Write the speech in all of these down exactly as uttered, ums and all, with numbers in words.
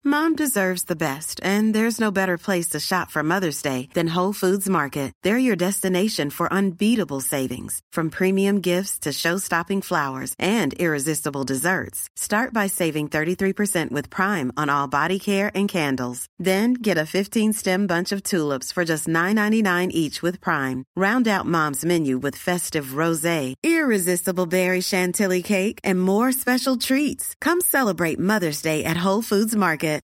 Mom deserves the best, and there's no better place to shop for Mother's Day than Whole Foods Market. They're your destination for unbeatable savings, from premium gifts to show-stopping flowers and irresistible desserts. Start by saving thirty-three percent with Prime on all body care and candles. Then get a fifteen-stem bunch of tulips for just nine ninety-nine each with Prime. Round out Mom's menu with festive rosé, irresistible berry chantilly cake, and more special treats. Come celebrate Mother's Day at Whole Foods Market.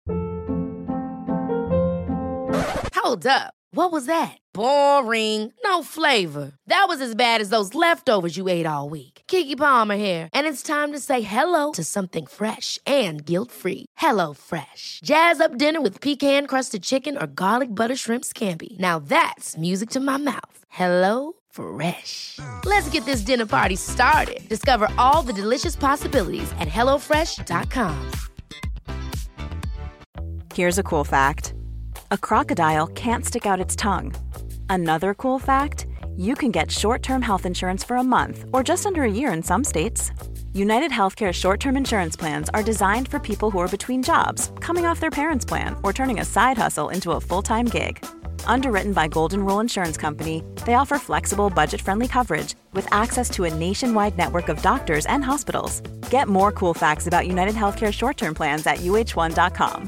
Hold up. What was that? Boring. No flavor. That was as bad as those leftovers you ate all week. Keke Palmer here, and it's time to say hello to something fresh and guilt-free. Hello Fresh. Jazz up dinner with pecan-crusted chicken or garlic butter shrimp scampi. Now that's music to my mouth. Hello Fresh. Let's get this dinner party started. Discover all the delicious possibilities at hello fresh dot com. Here's a cool fact. A crocodile can't stick out its tongue. Another cool fact, you can get short-term health insurance for a month or just under a year in some states. United Healthcare short-term insurance plans are designed for people who are between jobs, coming off their parents' plan, or turning a side hustle into a full-time gig. Underwritten by Golden Rule Insurance Company, they offer flexible, budget-friendly coverage with access to a nationwide network of doctors and hospitals. Get more cool facts about United Healthcare short-term plans at u h one dot com.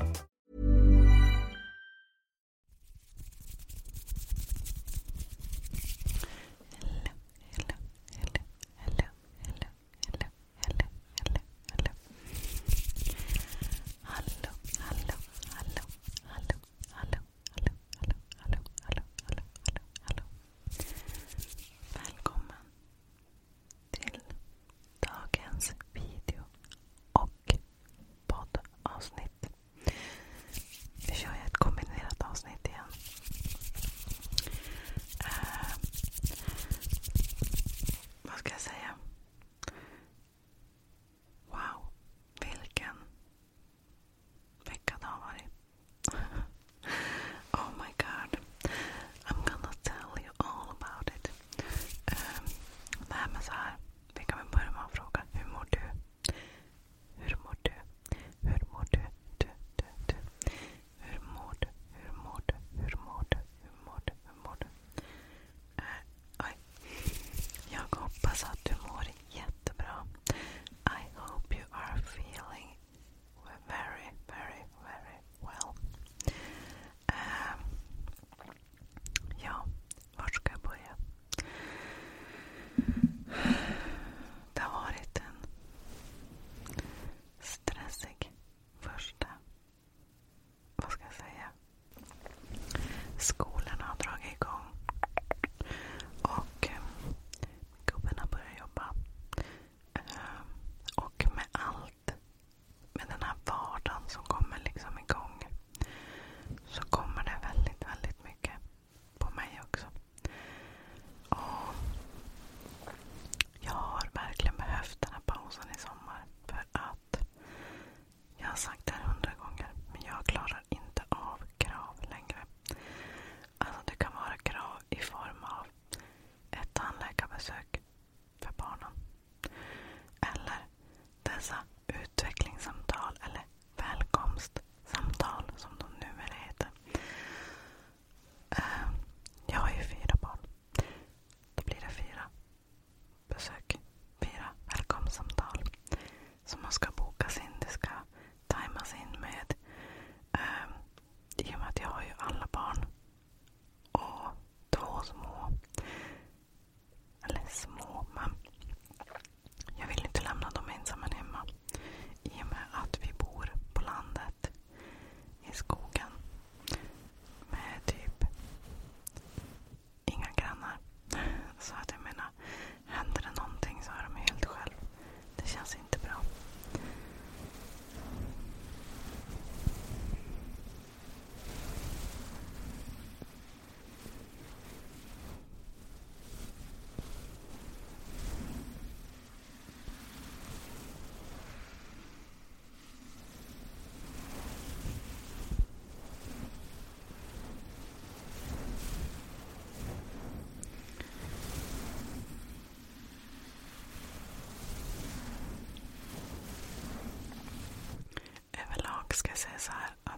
Ska jag säga så här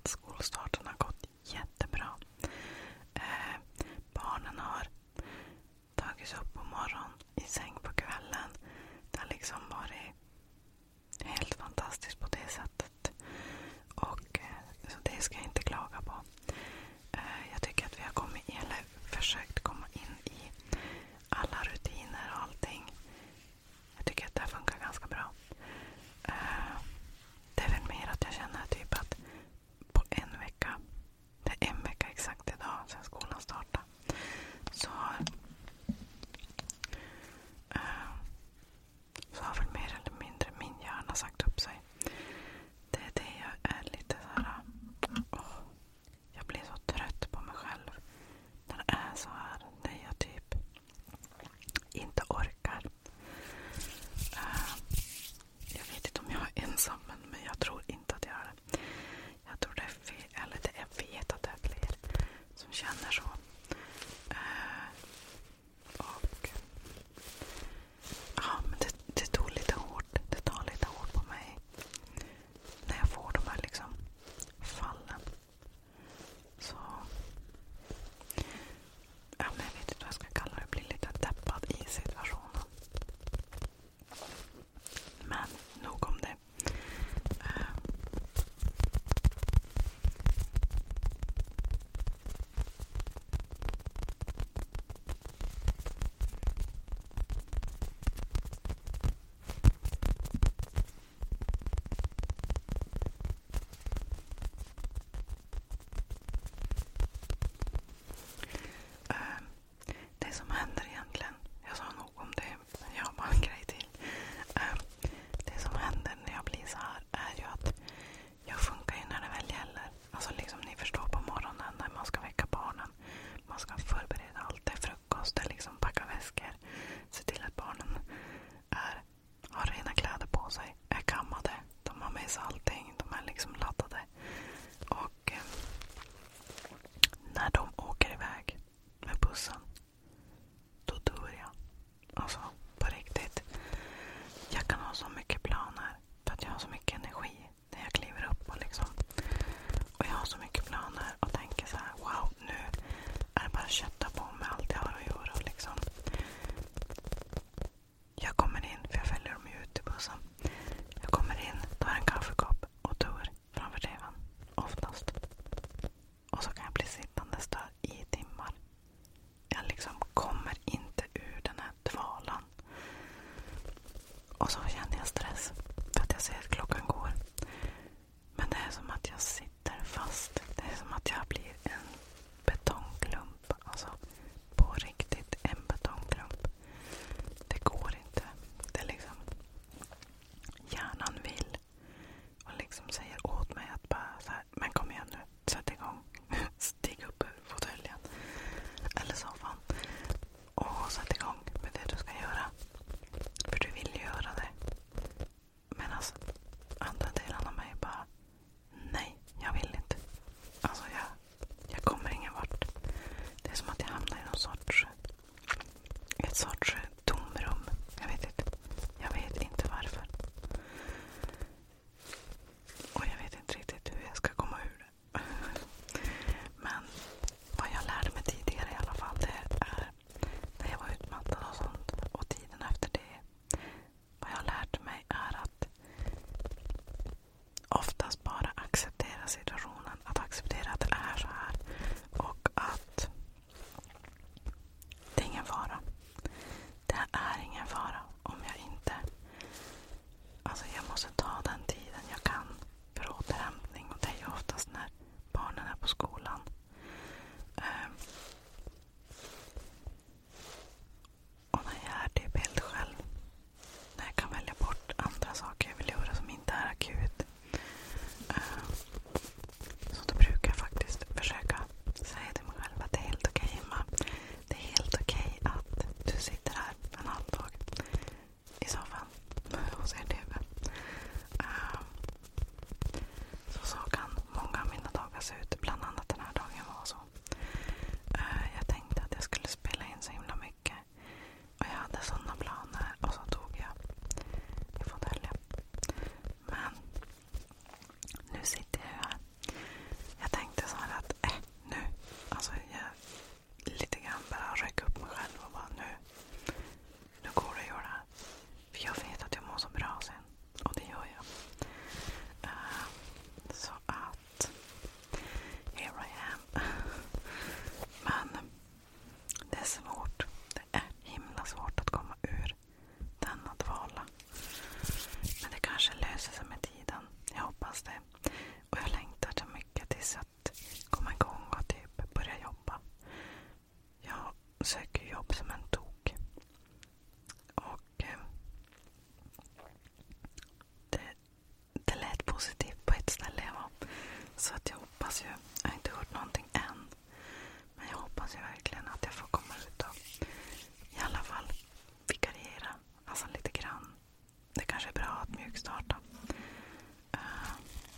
hoppas ju, jag har inte hört någonting än, men jag hoppas ju verkligen att jag får komma ut och i alla fall vikariera, alltså lite grann. Det kanske är bra att mjukstarta. Uh.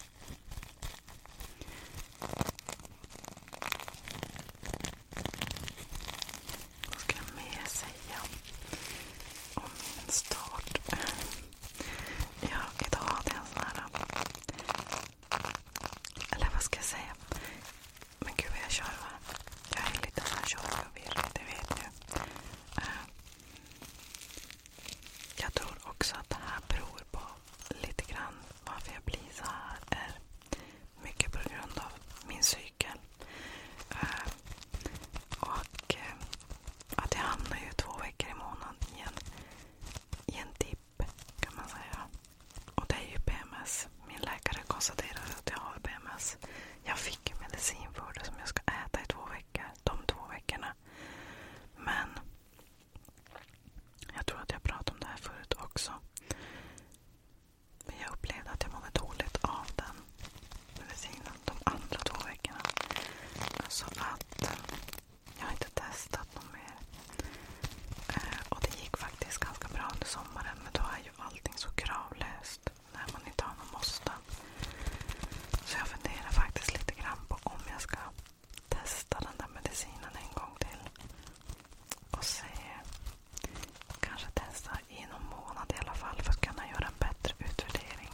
Vad ska jag mer säga om min start? Ja, idag hade jag en sån här, eller vad ska jag säga? Men gud vad jag kör, va? Jag är lite så här körförvirrad, det vet ni. Uh. Jag tror också att det här beror på lite grann varför jag blir så här, är mycket på grund av min cykel. Uh, och uh, att jag hamnar ju två veckor i månaden i en, i en dipp, kan man säga. Och det är ju P M S. Min läkare konstaterade att jag har P M S. Jag fick ju medicin för det som jag ska äta i två veckor. De två veckorna. Men jag tror att jag pratade om det här förut också. Men jag upplevde att jag mådde dåligt av den medicinen de andra två veckorna. Så att eh, jag har inte testat något mer. Eh, och det gick faktiskt ganska bra under sommaren. Men då är ju allting så kravlöst när man inte har någon måste. Så jag funderar faktiskt lite grann på om jag ska testa den där medicinen en gång till. Och se, kanske testa i någon månad i alla fall för att kunna göra en bättre utvärdering.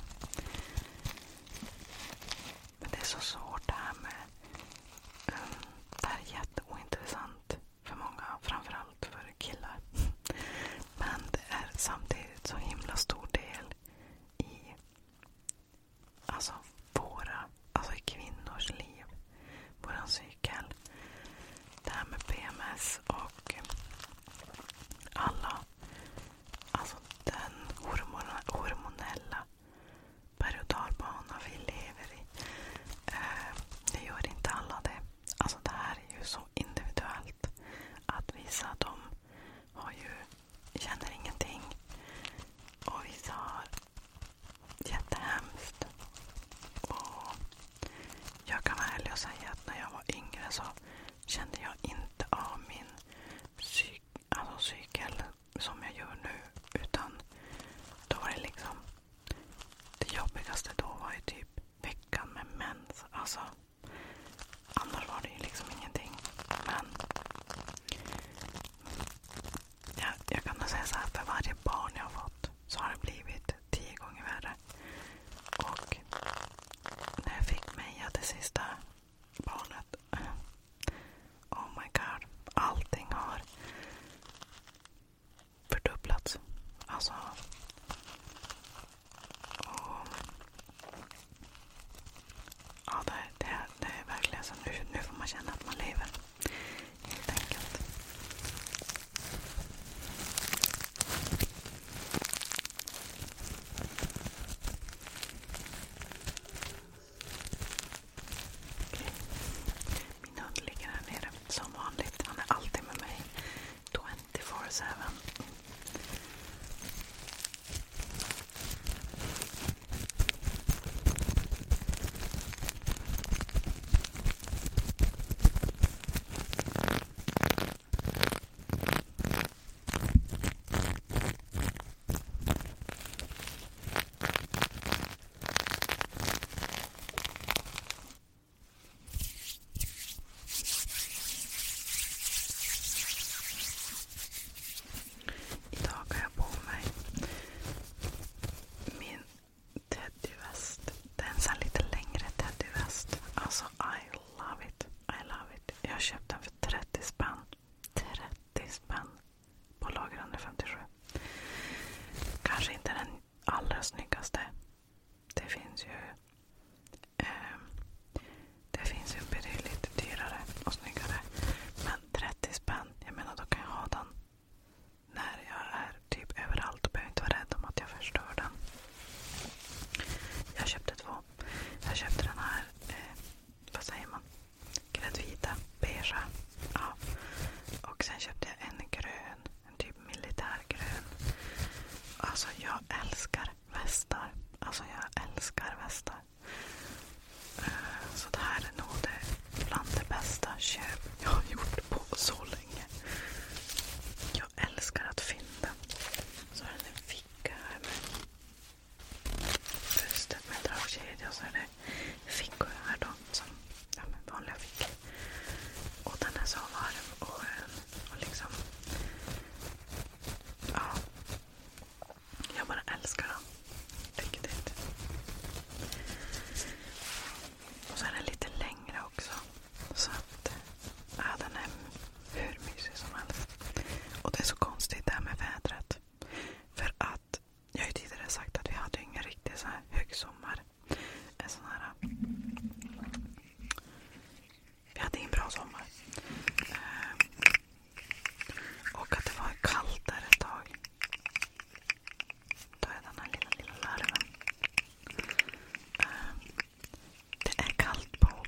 Men det är så svårt det här med um, det här är jätteointressant för många, framförallt för killar. Men det är samtidigt så himla stor del i alltså våra, alltså i kvinnors liv, våran cykel. Det här med P M S och alla, alltså den hormona, hormonella berg- och dalbana vi lever i. Eh, det gör inte alla det. Alltså det här är ju så individuellt att vissa de har ju, känner ingenting och vissa har jättehemskt. Och jag kan vara ärlig och säga att när jag var yngre så kände jag inte av min psyk, alltså cykel som jag gör nu, utan då var det liksom det jobbigaste då var ju typ veckan med mens. Alltså annars var det ju liksom ingenting. Men jag, jag kan nog säga så här, för varje barn jag har fått så har det blivit tio gånger värre. Och när jag fick Meja, det sista barnet, oh my god, allting har fördubblats. Alltså och ja, det, det, det är verkligen så. Nu, nu får man känna att man lever, helt enkelt. Okej. Min hund ligger här nere som vanligt. Han är alltid med mig tjugofyra sju. Idag har jag på mig min teddyväst. Det är en sån lite längre teddyväst. Alltså, I love it. I love it. Jag köpte den för trettio spänn. trettio spänn på lager etthundrafemtiosju. Kanske inte den allra snyggaste. Det finns ju eh, det finns ju betydligt dyrare och snyggare. Men trettio spänn, jag menar då kan jag ha den när jag är typ överallt och behöver inte vara rädd om att jag förstör den. Jag köpte två. Jag köpte den här, eh, vad säger man? Gräddvita, beige. Ja. Och sen köpte jag en grön, en typ militärgrön. Alltså jag älskar västar. Alltså jag älskar västar. Uh, så det här är nog Och så är den lite längre också. Så att ja, den är hur mysig som helst. Och det är så konstigt det här med vädret. För att jag har ju tidigare sagt att vi hade ingen riktig så här högsommar. En sån här... Vi hade ingen bra sommar. Och att det var kallt där ett tag. Då är den här lilla, lilla larven. Det är kallt på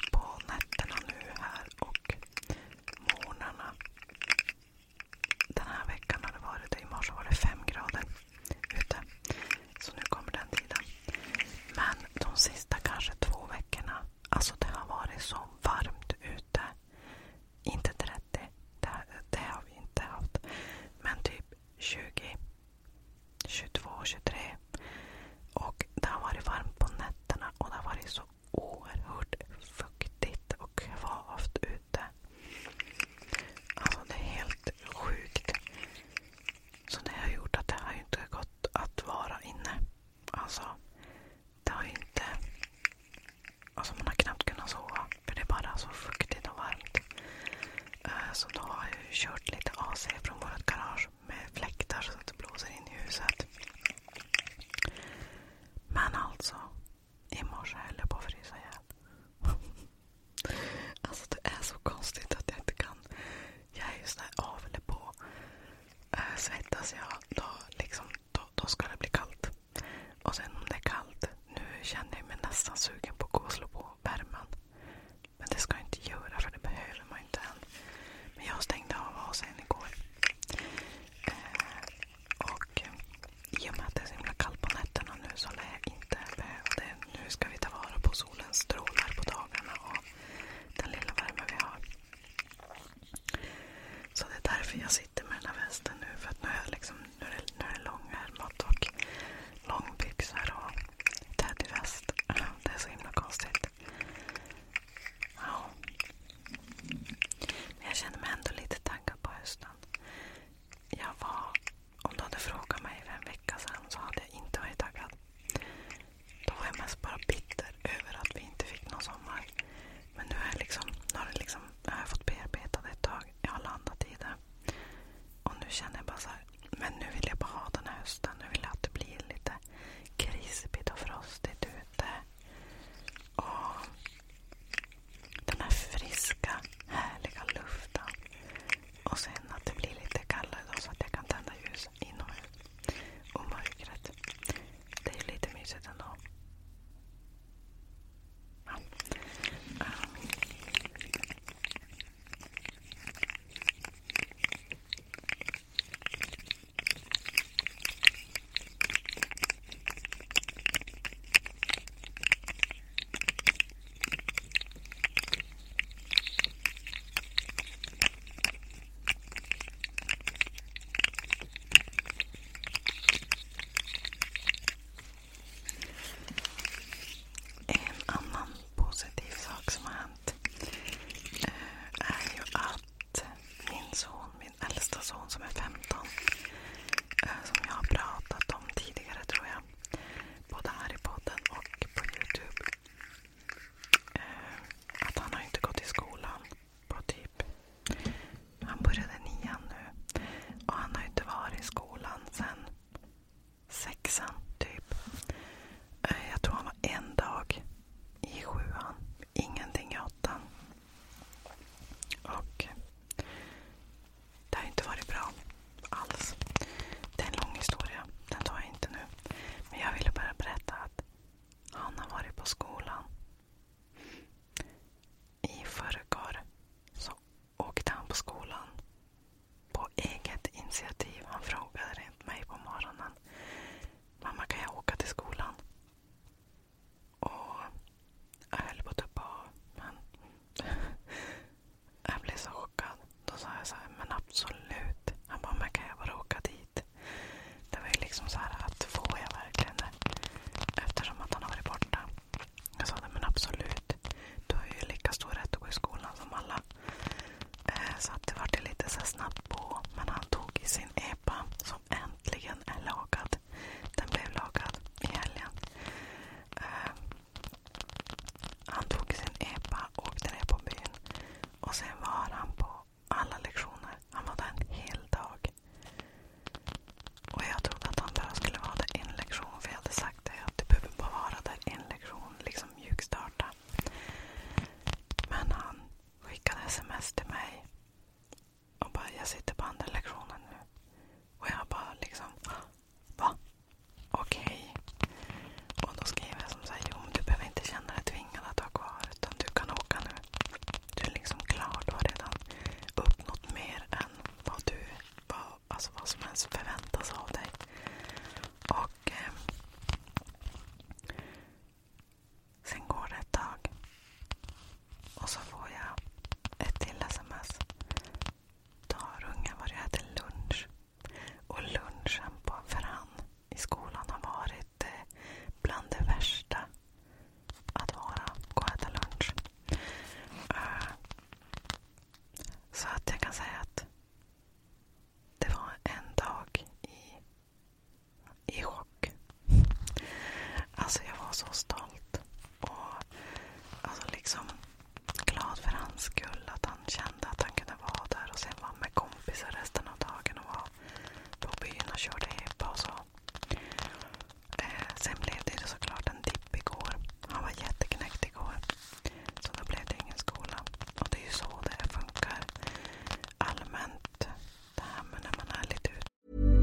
så stolt. Och alltså liksom glad för hans skull. Att han kände att han kunde vara där. Och sen var med kompisar resten av dagen. Och var på byn och körde hippa och så. Eh, sen blev det såklart en dipp igår. Han var jätteknäckt igår. Så då blev det ingen skola. Och det är ju så det funkar allmänt. Det här med när man är lite ut.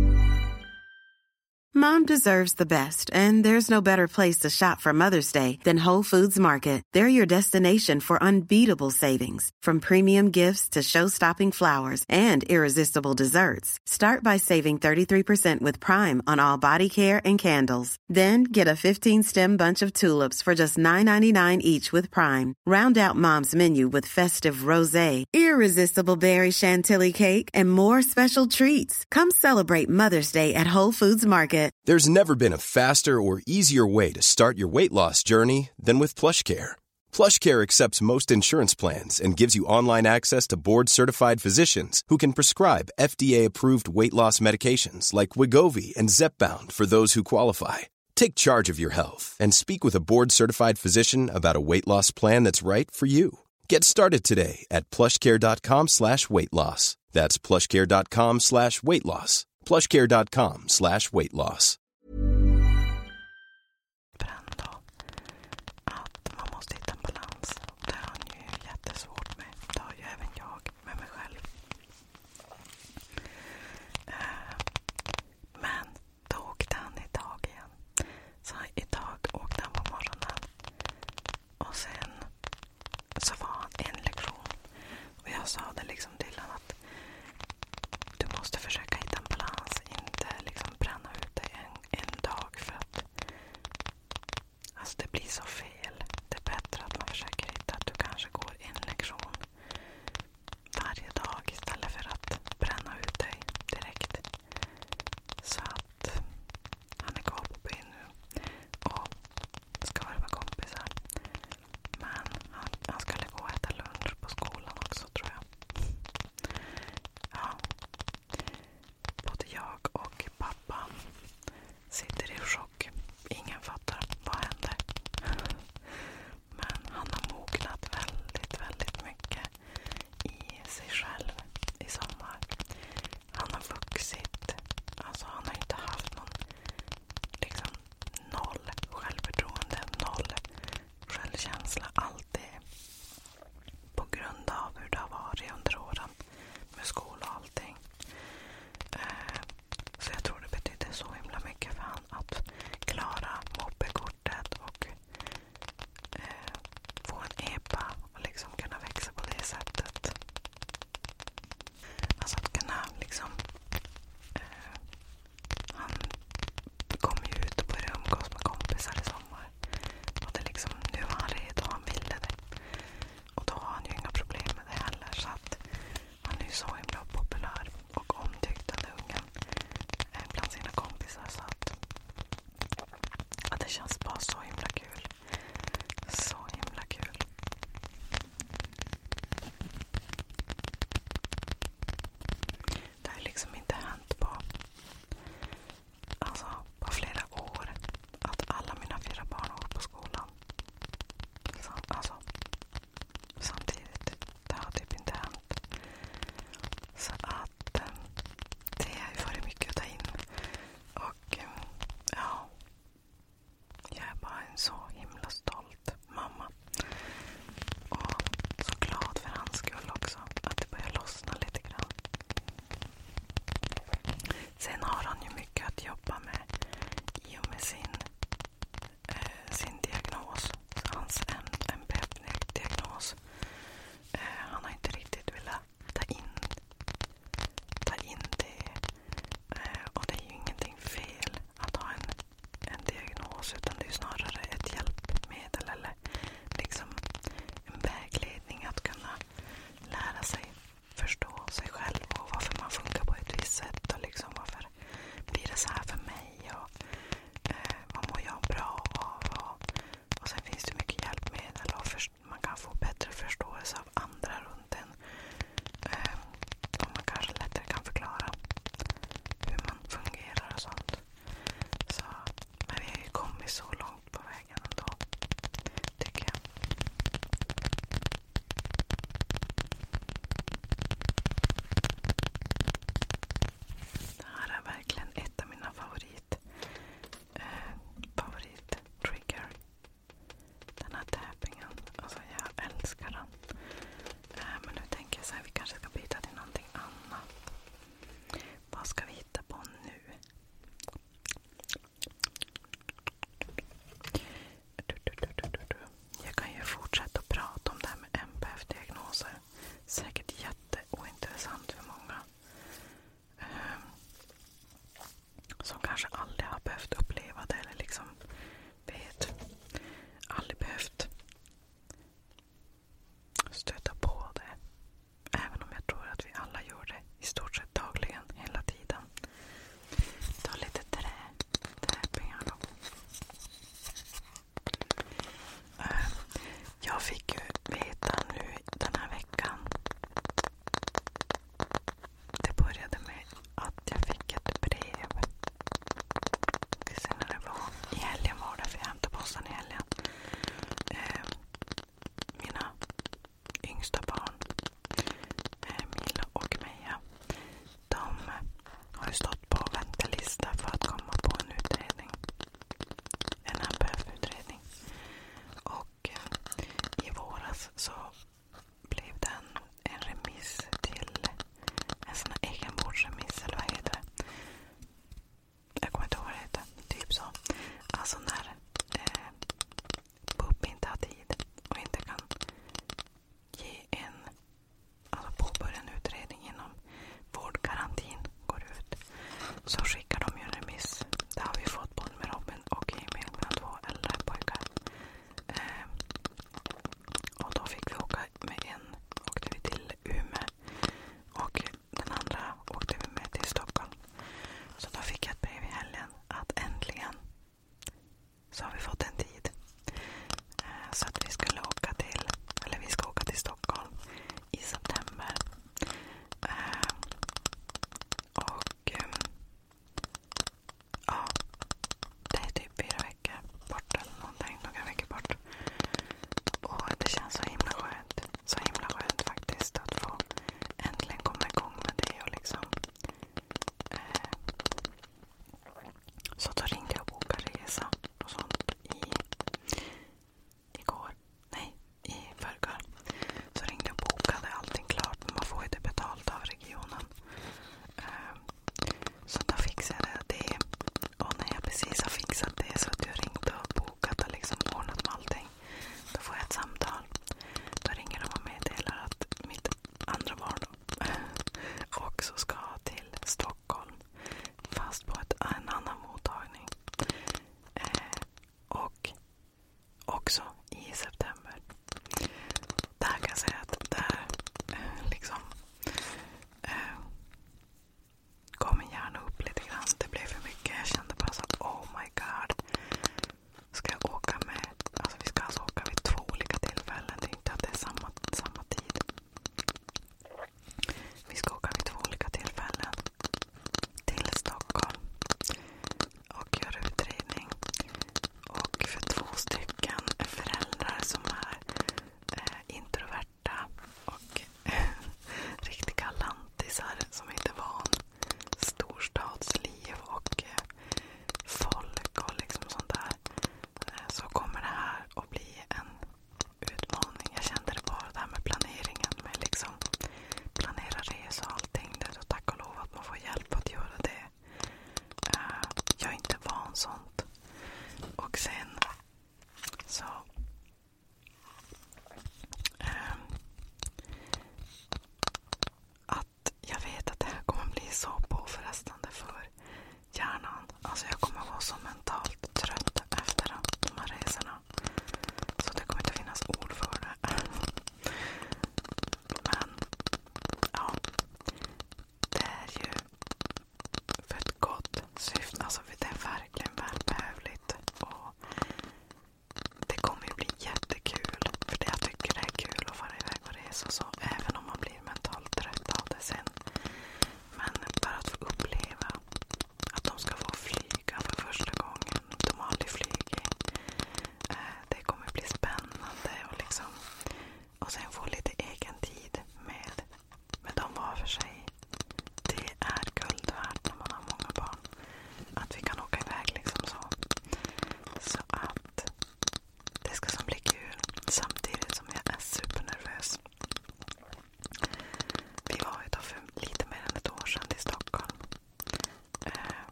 Mom deserves the best, and there's no better place to shop for Mother's Day than Whole Foods Market. They're your destination for unbeatable savings, from premium gifts to show-stopping flowers and irresistible desserts. Start by saving thirty-three percent with Prime on all body care and candles. Then get a fifteen-stem bunch of tulips for just nine ninety-nine each with Prime. Round out Mom's menu with festive rosé, irresistible berry chantilly cake, and more special treats. Come celebrate Mother's Day at Whole Foods Market. There's never been a faster or easier way to start your weight loss journey than with PlushCare. PlushCare accepts most insurance plans and gives you online access to board-certified physicians who can prescribe F D A-approved weight loss medications like Wegovy and Zepbound for those who qualify. Take charge of your health and speak with a board-certified physician about a weight loss plan that's right for you. Get started today at plushcare.com slash weight loss. That's plushcare.com slash weight loss. plushcare.com slash weight loss. Ändå att man måste hitta en balans. Det har han ju jättesvårt med. Det har ju även jag med mig själv. Men då åkte han idag igen. Så idag åkte han på morgonen. Och sen så var han en lektion. Och jag sa det liksom till honom att du måste försöka hitta en balans. Inte liksom bränna ut dig en,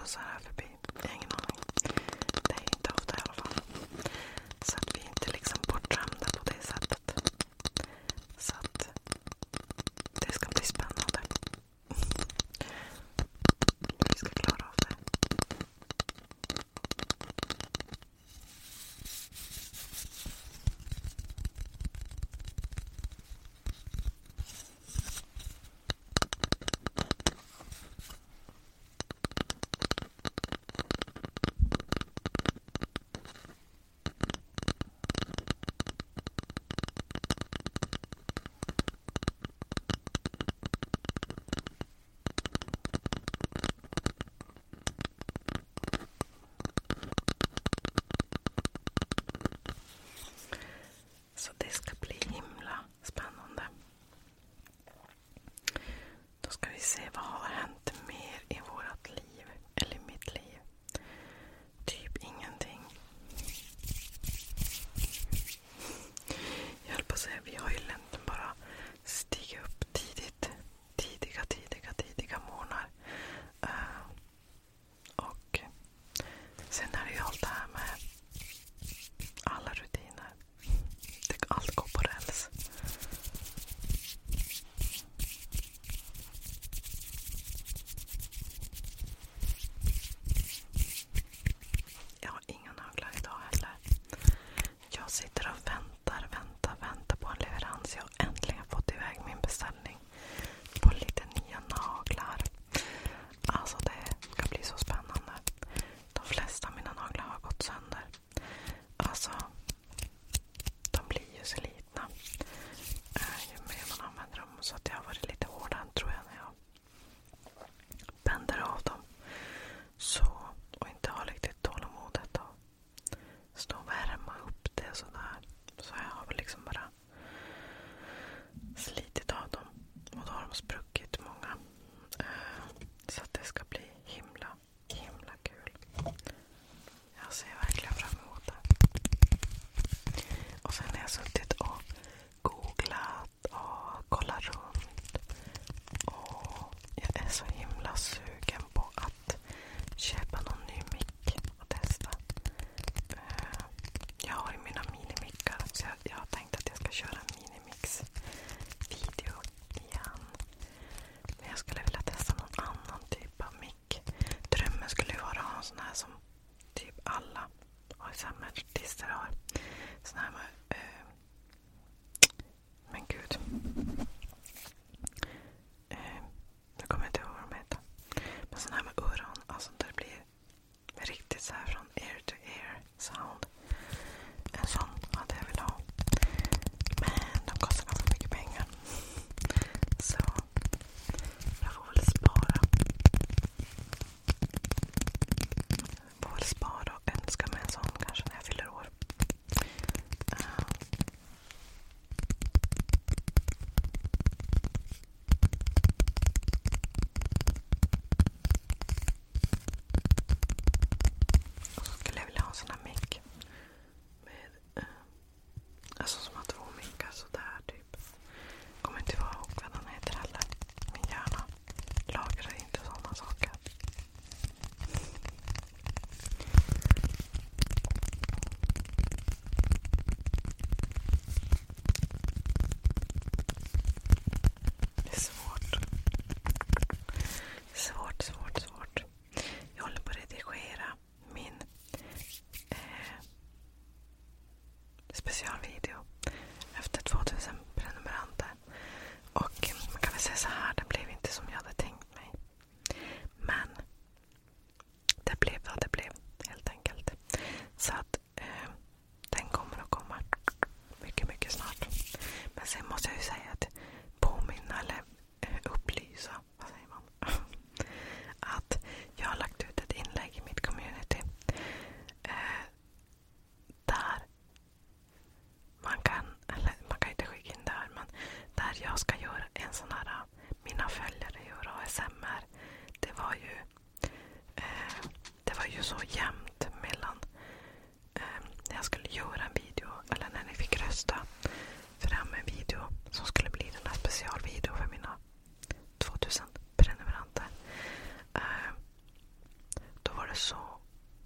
bussar här förbi. Jag har ingen aning. Det är inte ofta i alla fall. Så att vi är inte liksom bortdrömda på det sättet. Så att det ska bli spännande. Vi ska klara av det. Så det ska bli himla spännande. Då ska vi se vad har hänt mer i vårt liv. Eller mitt liv. Typ ingenting. Jag höll på att säga, vi har ju egentligen bara stigit upp tidigt. Tidiga, tidiga, tidiga morgnar. Uh, och sen är det ju allt det här med alla rutiner. Allt går på räls. Jag har inga naglar idag heller. Jag sitter och väntar, väntar, väntar på en leverans. Jag har äntligen fått iväg min beställning på lite nya naglar. Alltså det ska bli så spännande. De flesta av mina naglar har gått sönder. Alltså de blir ju så litna äh, ju mer man använder dem, så att jag har varit lite hårdare tror jag när jag bänder av dem så, och inte har riktigt tålamodet att stå och värma upp det och sådär, så jag har väl liksom bara slitit av dem och då har de spruckit många äh, så att det ska bli himla himla kul. Jag ser verkligen fram emot det. Och sen har jag suttit och googlat och kollat runt. Och jag är så himla sugen på att köpa någon ny mick och testa. Jag har ju mina minimickar, så jag, jag har tänkt att jag ska köra en minimix-video igen. Men jag skulle vilja testa någon annan typ av mick. Drömmen skulle ju vara att ha en sån här som typ alla A S M R-artister har. Sån här med, eh, men gud. Eh, nu kommer jag inte ihåg vad de heter. Men sån här med öron, alltså där det blir riktigt så här från ear to ear sound. En sån hade jag velat ha. Men de kostar ganska mycket pengar. Så jag får väl spara. Jag får väl spara och önska mig en sån kanske när jag fyller år. Uh. Och så skulle jag vilja ha en sån här mick. Med, uh, alltså som har två mickar sådär typ. Kommer inte ihåg vad den heter heller. Min hjärna lagrar inte sådana saker. Det är svårt. Svårt, svårt, svårt. Jag håller på att redigera min eh, specialvideo efter tvåtusen prenumeranter. Och eh, man kan väl säga så här, det blev inte som jag hade tänkt mig. Men det blev vad det blev, helt enkelt. Så att eh, den kommer att komma mycket, mycket snart. Men sen måste jag ju säga att påminna eller eh, upplysa, vad säger man? Att jag har lagt ut ett inlägg i mitt community eh, där man kan, eller man kan inte skicka in där, men där jag ska göra en sån här, mina följare gör A S M R. Det var ju eh, det var ju så jämnt mellan eh, när jag skulle göra en video, eller när ni fick rösta fram en video som skulle bli den här specialvideo för mina tvåtusen prenumeranter. Eh,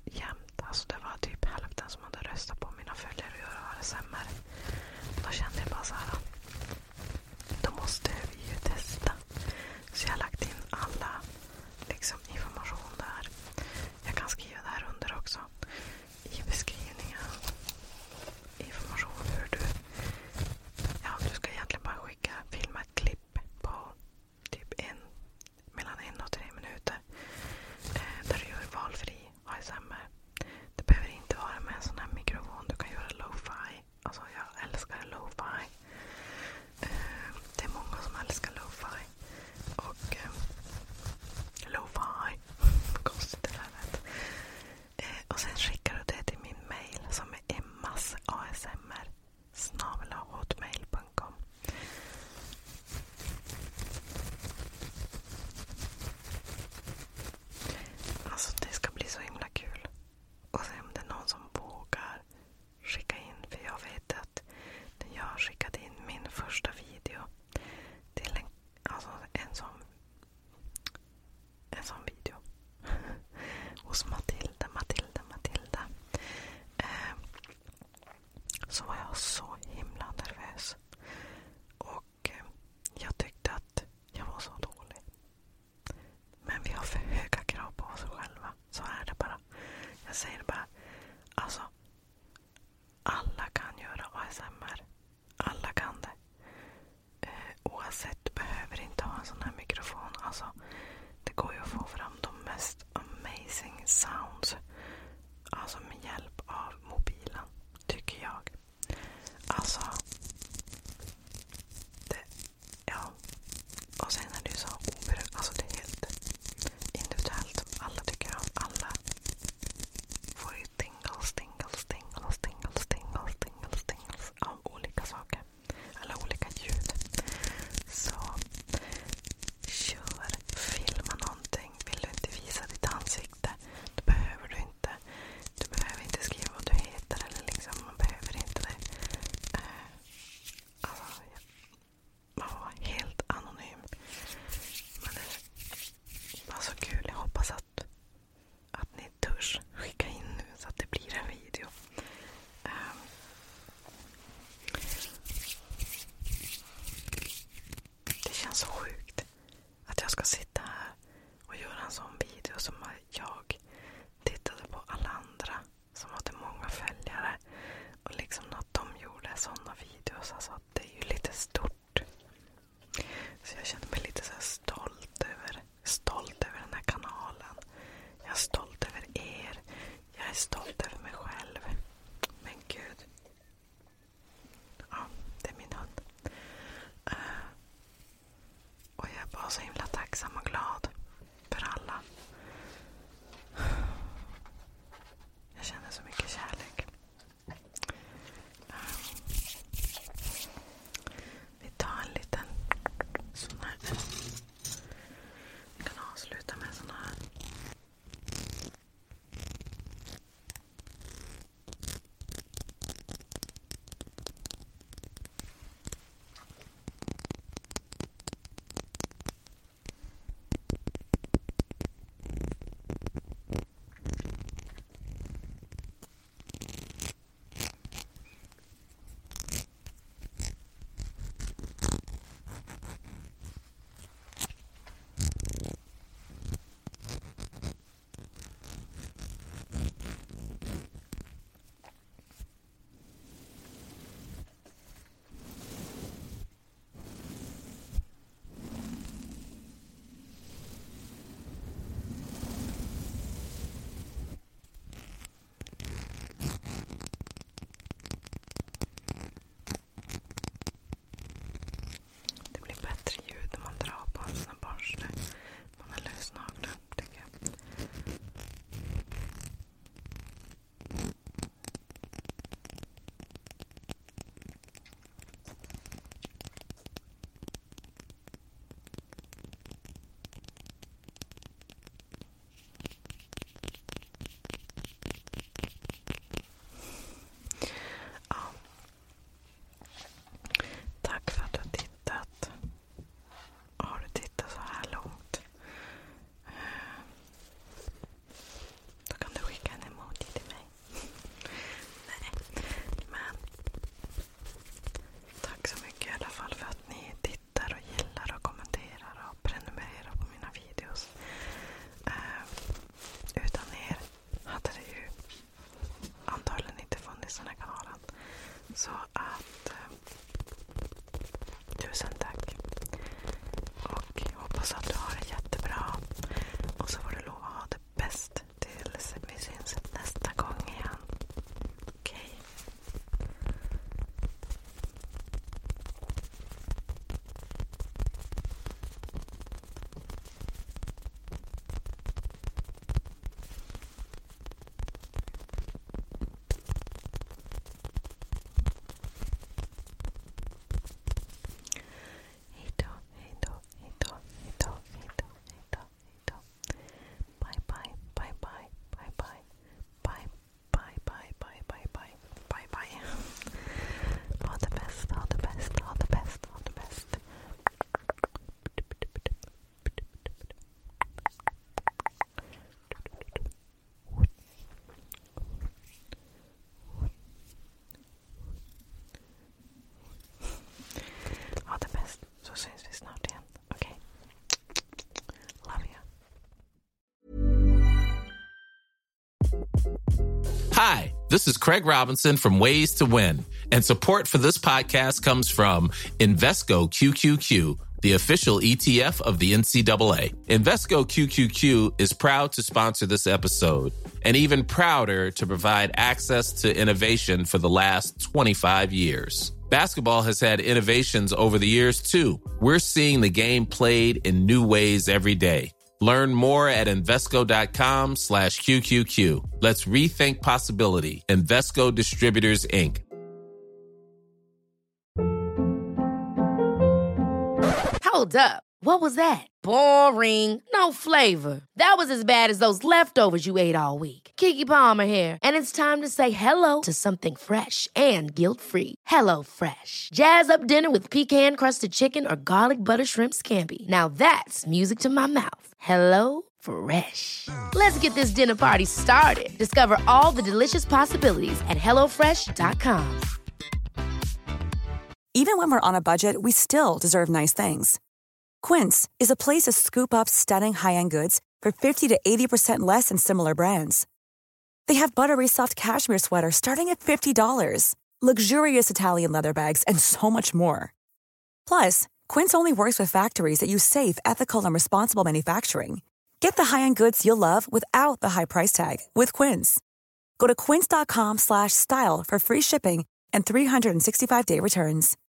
jämnt. Alltså det var typ hälften som hade röstat på mina följare och göra A S M R. Då kände jag bara så här, då måste vi ju testa. Så jag har lagt in alla liksom information där. Jag kan skriva där under också i beskrivningen. Information hur du, ja, du ska egentligen bara skicka, filma ett klipp på typ en, mellan en och tre minuter eh, där du gör valfri A S M R. Det behöver inte vara med en sån här mikrofon. Du kan göra lo-fi. Alltså jag älskar lo-fi. Eh, det är många som älskar lo-fi. Och eh, lo-fi. Konstigt det där vet. Eh, och sen skickar du det till min mail som är emmas asmr snabel-a hotmail punkt com. Alltså det ska bli så himla kul. Och sen om det är någon som vågar skicka in, för jag vet att när jag skickade in min första video till en, alltså en sån en sån video hos Matilda, Matilda, Matilda eh, så var jag så himla nervös och eh, jag tyckte att jag var så dålig. Men vi har för höga krav på oss själva. Så är det bara. Jag säger bara, alltså alla kan göra A S M R. Alla kan det. Eh, oavsett, du behöver inte ha en sån här mikrofon. Alltså, det går ju att få fram de mest amazing sounds. Alltså med hjälp av mobilen, tycker jag. Alltså, det, ja. Och sen är det ju så oberoende. Alltså det är helt individuellt. Alla tycker om. Alla får ju tingles, tingles, tingles, tingles, tingles, tingles, tingles av olika saker. Eller olika ljud. Så kör, filma någonting. Vill du inte visa ditt ansikte? Det behöver du inte. Du behöver inte skriva vad du heter. Eller liksom, man behöver inte det. Eh, alltså, ja. Man var helt anonym. Men det var så kul. Jag hoppas att, att ni törs skicka in nu så att det blir en video. Um, det känns så sjukt att jag ska sitta här och göra en sån video som jag tittade på alla andra som hade många följare och liksom att de gjorde såna videos. Alltså det är ju lite stort. Så jag känner mig lite så här stolt över, stolt över den här kanalen. Jag är stolt över er. Jag är stolt över mig själv. Men gud. Ja, det är min hund. Uh, och jag är bara så himla tacksam och glad för alla Hi, this is Craig Robinson from Ways to Win, and support for this podcast comes from Invesco Q Q Q, the official E T F of the N C double A. Invesco Q Q Q is proud to sponsor this episode, and even prouder to provide access to innovation for the last twenty-five years. Basketball has had innovations over the years, too. We're seeing the game played in new ways every day. Learn more at Invesco.com slash QQQ. Let's rethink possibility. Invesco Distributors, Incorporated. Hold up. What was that? Boring. No flavor. That was as bad as those leftovers you ate all week. Keke Palmer here, and it's time to say hello to something fresh and guilt-free. Hello Fresh. Jazz up dinner with pecan-crusted chicken or garlic butter shrimp scampi. Now that's music to my mouth. Hello Fresh. Let's get this dinner party started. Discover all the delicious possibilities at hello fresh dot com. Even when we're on a budget, we still deserve nice things. Quince is a place to scoop up stunning high-end goods for fifty to eighty percent less than similar brands. They have buttery soft cashmere sweaters starting at fifty dollars, luxurious Italian leather bags, and so much more. Plus, Quince only works with factories that use safe, ethical, and responsible manufacturing. Get the high-end goods you'll love without the high price tag with Quince. Go to quince.com slash style for free shipping and three sixty-five day returns.